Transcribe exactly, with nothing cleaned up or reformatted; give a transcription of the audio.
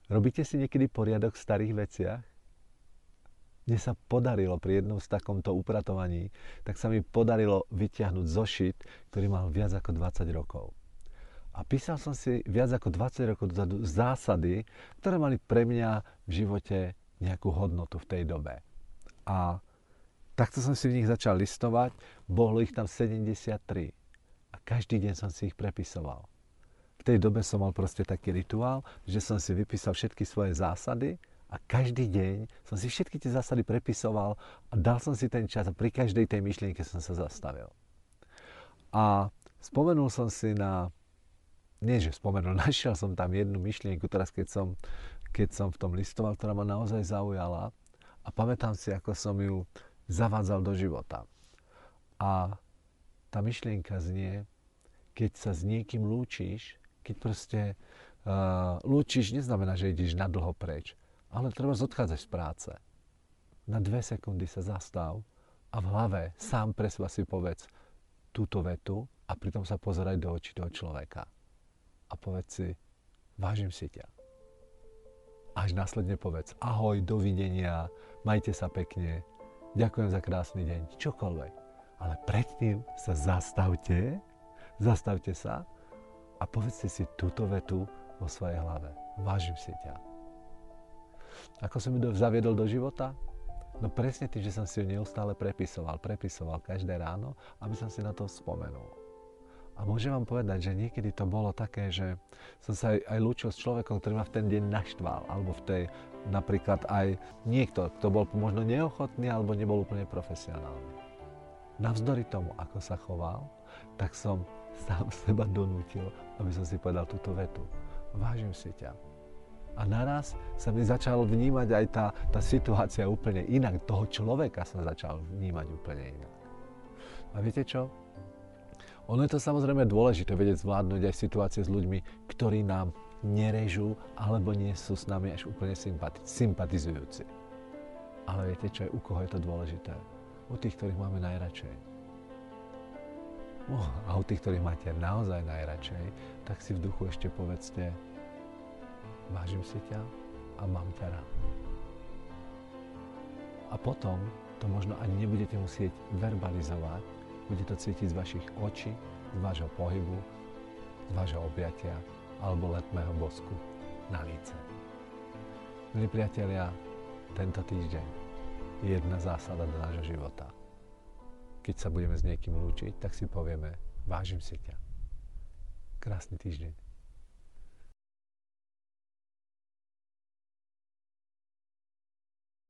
Robíte si niekedy poriadok v starých veciach? Mne sa podarilo pri jednom z takomto upratovaní, tak sa mi podarilo vyťahnuť zošit, ktorý mal viac ako dvadsať rokov. A písal som si viac ako dvadsať rokov dozadu zásady, ktoré mali pre mňa v živote nejakú hodnotu v tej dobe. A takto som si v nich začal listovať, bolo ich tam sedemdesiattri. A každý deň som si ich prepisoval. V tej dobe som mal proste taký rituál, že som si vypísal všetky svoje zásady a každý deň som si všetky tie zásady prepisoval a dal som si ten čas a pri každej tej myšlienke som sa zastavil. A spomenul som si na, nie že spomenul, našiel som tam jednu myšlienku, teraz keď som, keď som v tom listoval, ktorá ma naozaj zaujala a pamätám si, ako som ju zavádzal do života. A tá myšlienka znie, keď sa s niekým lúčiš, keď proste uh, lúčiš, neznamená, že ideš na dlho preč, ale treba odchádzať z práce. Na dve sekundy sa zastav a v hlave sám pre seba si povedz túto vetu a pritom sa pozeraj do očí toho človeka. A povedz si, vážim si ťa. Až následne povedz, ahoj, dovidenia, majte sa pekne, ďakujem za krásny deň, čokoľvek. Ale predtým sa zastavte, zastavte sa a povedzte si túto vetu vo svojej hlave. Vážim si ťa. Ako som ju zaviedol do života? No presne tým, že som si ju neustále prepisoval. Prepisoval každé ráno, aby som si na to spomenul. A môžem vám povedať, že niekedy to bolo také, že som sa aj, aj lúčil s človekom, ktorý ma v ten deň naštval. Alebo v tej, napríklad aj niekto, kto bol možno neochotný alebo nebol úplne profesionálny. Navzdory tomu, ako sa choval, tak som sám seba donútil, aby som si povedal túto vetu. Vážim si ťa. A naraz sa mi začal vnímať aj tá, tá situácia úplne inak. Toho človeka som začal vnímať úplne inak. A viete čo? Ono je to samozrejme dôležité vedieť zvládnuť aj situácie s ľuďmi, ktorí nám nerežú alebo nie sú s nami až úplne sympati- sympatizujúci. Ale viete čo? U koho je to dôležité? U tých, ktorých máme najradšej. No, a u tých, ktorých máte naozaj najradšej, tak si v duchu ešte povedzte, vážim si ťa a mám ťa rád. A potom to možno ani nebudete musieť verbalizovať, bude to cítiť z vašich očí, z vášho pohybu, z vášho objatia alebo letmého bosku na líce. Milí priatelia, tento týždeň je jedna zásada do nášho života. Keď sa budeme s niekým lúčiť, tak si povieme, vážim si ťa. Krásny týždeň.